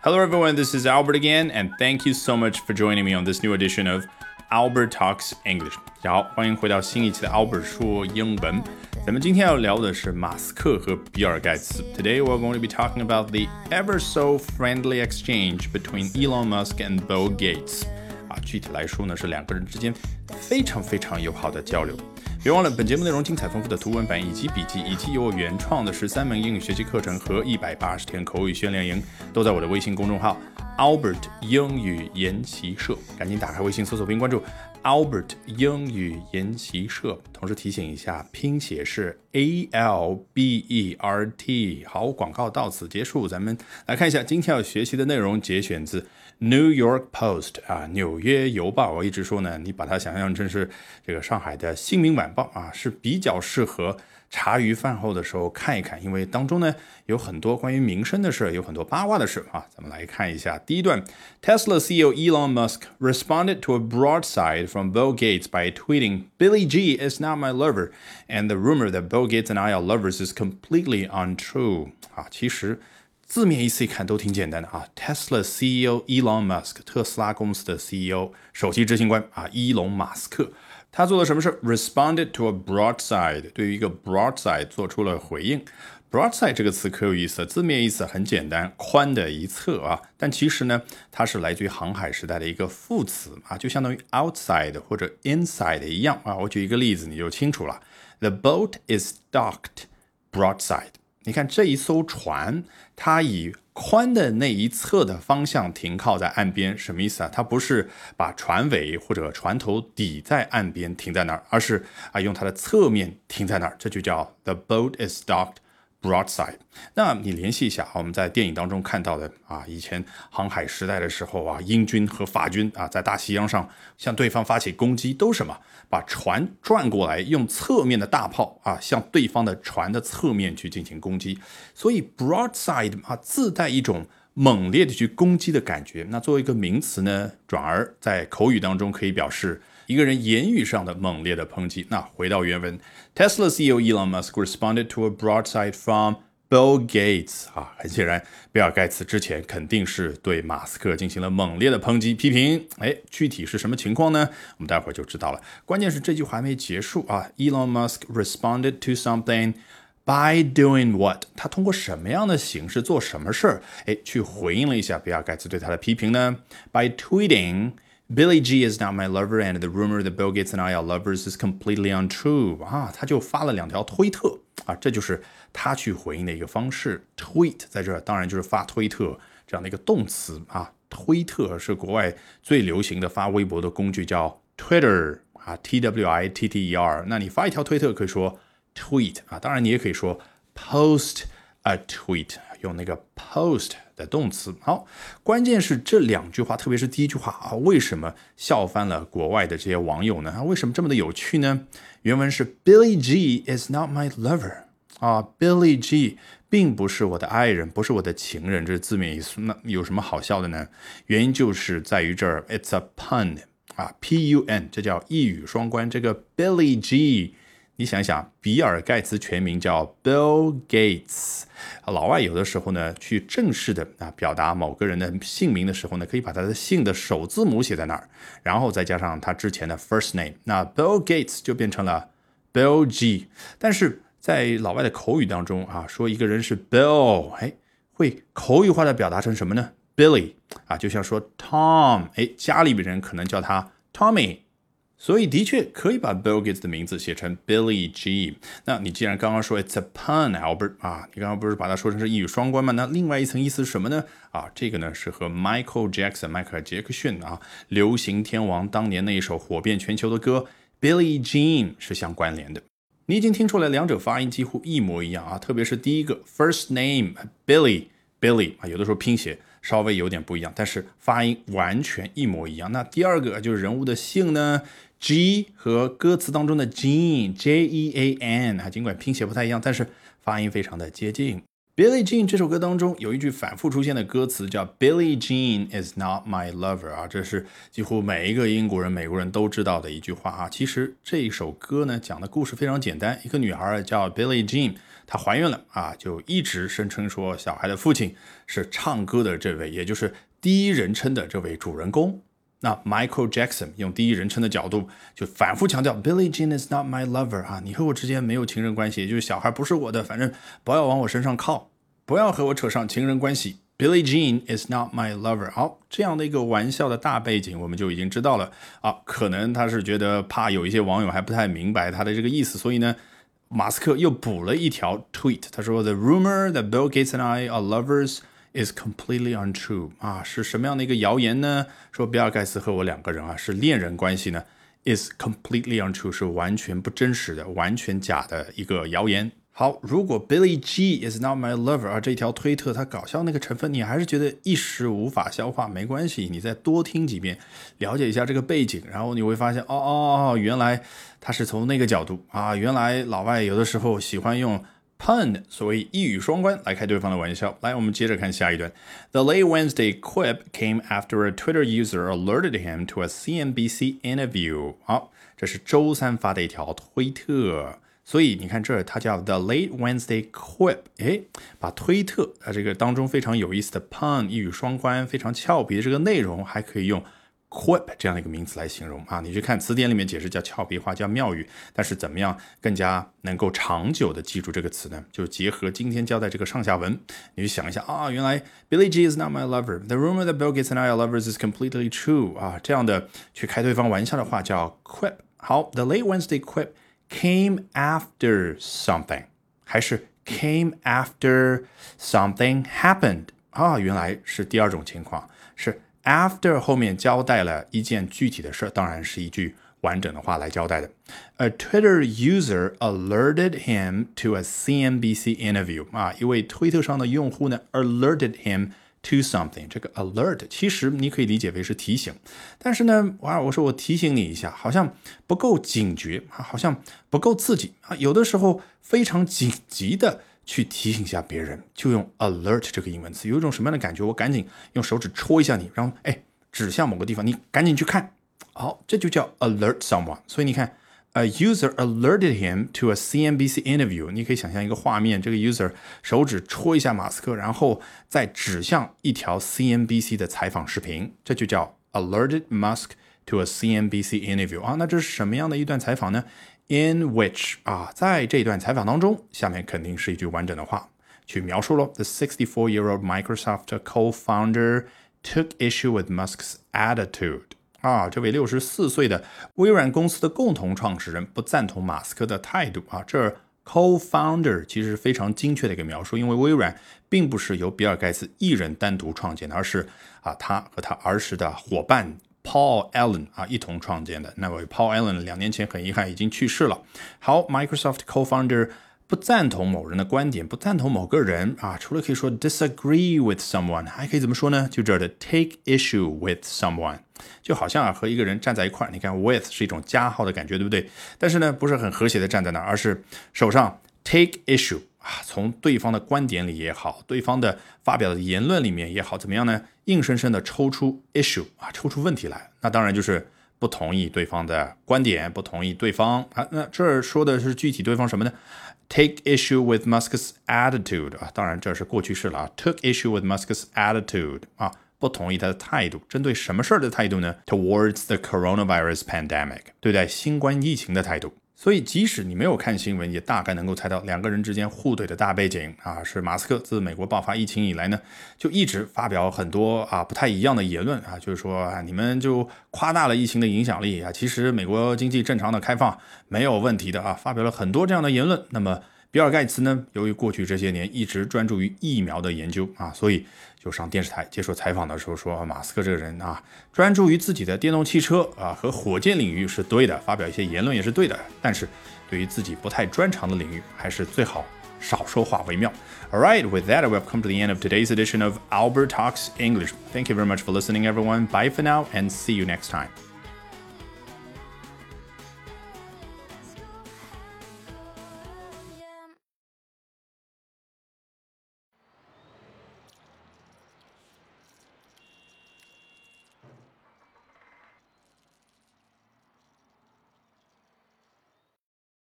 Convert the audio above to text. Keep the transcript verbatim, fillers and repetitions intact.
Hello everyone, this is Albert again, and thank you so much for joining me on this new edition of Albert Talks English. 大家好，欢迎回到新一期的 Albert 说英文。咱们今天要聊的是马斯克和比尔盖茨。Today we're going to be talking about the ever so friendly exchange between Elon Musk and Bill Gates. 啊，具体来说呢，是两个人之间非常非常友好的交流。别忘了，本节目内容精彩丰富的图文版以及笔记，以及由我原创的十三门英语学习课程和一百八十天口语训练营，都在我的微信公众号 Albert 英语研习社。赶紧打开微信搜索并关注 Albert 英语研习社。同时提醒一下，拼写是 A L B E R T。好，广告到此结束。咱们来看一下今天要学习的内容，节选自New York Post 啊，纽约邮报。我一直说呢，你把它想象成是这个上海的新民晚报啊，是比较适合茶余饭后的时候看一看，因为当中呢有很多关于民生的事，有很多八卦的事啊。咱们来看一下第一段 ，Tesla C E O Elon Musk responded to a broadside from Bill Gates by tweeting, "Billy G is not my lover, and the rumor that Bill Gates and I are lovers is completely untrue." 啊，其实字面意思一看都挺简单的啊 ，Tesla C E O Elon Musk 特斯拉公司的 C E O 首席执行官啊，伊隆马斯克。他做了什么事 ？Responded to a broadside， 对于一个 broadside 做出了回应。broadside 这个词可有意思，字面意思很简单，宽的一侧啊，但其实呢，它是来自于航海时代的一个副词啊，就相当于 outside 或者 inside 一样啊。我举一个例子你就清楚了 ，The boat is docked broadside。你看这一艘船，它以宽的那一侧的方向停靠在岸边，什么意思啊？它不是把船尾或者船头抵在岸边停在那儿，而是啊用它的侧面停在那儿，这就叫 The boat is docked broadside。那你联系一下，我们在电影当中看到的啊，以前航海时代的时候啊，英军和法军啊在大西洋上向对方发起攻击，都什么？把船转过来，用侧面的大炮啊向对方的船的侧面去进行攻击。所以 broadside 啊自带一种猛烈的去攻击的感觉。那作为一个名词呢，转而在口语当中可以表示一个人言语上的猛烈的抨击。那回到原文 ，Tesla C E O Elon Musk responded to a broadside from Bill Gates 啊，很显然，比尔盖茨之前肯定是对马斯克进行了猛烈的抨击批评。哎，具体是什么情况呢？我们待会儿就知道了。关键是这句话还没结束啊 ，Elon Musk responded to something by doing what？ 他通过什么样的形式做什么事儿？哎，去回应了一下比尔盖茨对他的批评呢 ？By tweeting。Billy G is not my lover, and the rumor that Bill Gates and I are lovers is completely untrue. 啊，他就发了两条推特啊，这就是他去回应的一个方式。Tweet 在这儿当然就是发推特这样的一个动词啊。推特是国外最流行的发微博的工具，叫 Twitter 啊 ，T W I T T E R。那你发一条推特可以说 tweet 啊，当然你也可以说 post a tweet， 用那个 post。的动词。好，关键是这两句话，特别是第一句话啊，为什么笑翻了国外的这些网友呢？为什么这么的有趣呢？原文是 Billy G is not my lover 啊 ，Billy G 并不是我的爱人，不是我的情人，这是字面意思。那有什么好笑的呢？原因就是在于这儿 ，it's a pun 啊 ，P U N， 这叫一语双关。这个 Billy G。你想想，比尔盖茨全名叫 Bill Gates， 老外有的时候呢，去正式的啊表达某个人的姓名的时候呢，可以把他的姓的首字母写在那儿，然后再加上他之前的 first name， 那 Bill Gates 就变成了 Bill G。但是在老外的口语当中啊，说一个人是 Bill， 哎，会口语化的表达成什么呢 ？Billy 啊，就像说 Tom， 哎，家里边人可能叫他 Tommy。所以的确可以把 Bill Gates 的名字写成 Billy G。那你既然刚刚说 it's a pun, Albert 啊，你刚刚不是把它说成是一语双关吗？那另外一层意思是什么呢？啊，这个呢是和 Michael Jackson 迈克尔杰克逊啊，流行天王当年那一首火遍全球的歌 Billie Jean 是相关联的。你已经听出来两者发音几乎一模一样啊，特别是第一个 first name Billy Billy 啊，有的时候拼写稍微有点不一样，但是发音完全一模一样。那第二个就是人物的姓呢 G 和歌词当中的 Jean J E A N 啊，尽管拼写不太一样，但是发音非常的接近。 Billie Jean 这首歌当中有一句反复出现的歌词叫 Billie Jean is not my lover 啊，这是几乎每一个英国人、美国人都知道的一句话啊。其实这一首歌呢讲的故事非常简单，一个女孩叫 Billie Jean， 她怀孕了啊，就一直声称说小孩的父亲是唱歌的这位，也就是第一人称的这位主人公。那 Michael Jackson 用第一人称的角度就反复强调 Billie Jean is not my lover 啊，你和我之间没有情人关系，也就是小孩不是我的，反正不要往我身上靠，不要和我扯上情人关系。 Billie Jean is not my lover。 好，这样的一个玩笑的大背景我们就已经知道了啊，可能他是觉得怕有一些网友还不太明白他的这个意思，所以呢马斯克又补了一条 tweet， 他说 The rumor that Bill Gates and I are lovers is completely untrue 啊，是什么样的一个谣言呢？说比尔盖茨和我两个人啊是恋人关系呢 is completely untrue， 是完全不真实的，完全假的一个谣言。好，如果 Billie G is not my lover 啊，这条推特它搞笑那个成分你还是觉得一时无法消化，没关系，你再多听几遍，了解一下这个背景，然后你会发现哦哦哦，原来他是从那个角度啊，原来老外有的时候喜欢用pun， 所谓一语双关来开对方的玩笑。来，我们接着看下一段。The late Wednesday quip came after a Twitter user alerted him to a C N B C interview。 好，这是周三发的一条推特，所以你看这儿它叫 The late Wednesday quip， 诶，把推特啊这个当中非常有意思的 pun 一语双关非常俏皮的这个内容还可以用quip 这样的一个名词来形容啊，你去看词典里面解释叫俏皮话，叫妙语，但是怎么样更加能够长久的记住这个词呢？就结合今天教的这个上下文，你去想一下啊，原来 Billie G is not my lover， The rumor that Bill Gates and I are lovers is completely true 啊，这样的去开对方玩笑的话叫 quip。 好， The late Wednesday quip came after something， 还是 came after something happened 啊，原来是第二种情况，是after 后面交代了一件具体的事，当然是一句完整的话来交代的。A Twitter user alerted him to a C N B C interview 啊，一位推特上的用户呢 alerted him to something， 这个 alert 其实你可以理解为是提醒，但是呢，哇，我说我提醒你一下，好像不够警觉，好像不够刺激啊，有的时候非常紧急的去提醒一下别人，就用 alert 这个英文词，有一种什么样的感觉？我赶紧用手指戳一下你，然后哎指向某个地方，你赶紧去看。好，这就叫 alert someone。所以你看 ，a user alerted him to a C N B C interview。你可以想象一个画面，这个 user 手指戳一下马斯克，然后再指向一条 C N B C 的采访视频，这就叫 alerted Musk to a C N B C interview 啊。那这是什么样的一段采访呢？In which 啊，在这段采访当中，下面肯定是一句完整的话去描述咯。The sixty-four-year-old Microsoft co-founder took issue with Musk's attitude。啊，这位六十四岁的微软公司的共同创始人不赞同马斯克的态度啊。这 co-founder 其实非常精确的一个描述，因为微软并不是由比尔盖茨一人单独创建的，而是啊他和他儿时的伙伴Paul Allen 啊，一同创建的。那位 Paul Allen 两年前很遗憾已经去世了。好 ，Microsoft co-founder 不赞同某人的观点，不赞同某个人啊，除了可以说 disagree with someone， 还可以怎么说呢？就这儿的 take issue with someone， 就好像啊和一个人站在一块，你看 with 是一种加号的感觉，对不对？但是呢，不是很和谐的站在那儿，而是手上 take issue。啊，从对方的观点里也好，对方的发表的言论里面也好，怎么样呢？硬生生的抽出 issue 啊，抽出问题来。那当然就是不同意对方的观点，不同意对方啊。那这儿说的是具体对方什么呢 ？Take issue with Musk's attitude 啊，当然这是过去式了啊。Took issue with Musk's attitude 啊，不同意他的态度。针对什么事儿的态度呢 ？Towards the coronavirus pandemic， 对待新冠疫情的态度。所以即使你没有看新闻，也大概能够猜到两个人之间互怼的大背景啊，是马斯克自美国爆发疫情以来呢，就一直发表很多啊不太一样的言论啊，就是说啊你们就夸大了疫情的影响力啊，其实美国经济正常的开放没有问题的啊，发表了很多这样的言论。那么比尔盖茨呢，由于过去这些年一直专注于疫苗的研究啊，所以就上电视台接受采访的时候说，马斯克这个人啊，专注于自己的电动汽车啊和火箭领域是对的，发表一些言论也是对的，但是对于自己不太专长的领域，还是最好少说话为妙。All right, with that, we've come to the end of today's edition of Albert Talks English. Thank you very much for listening, everyone. Bye for now, and see you next time.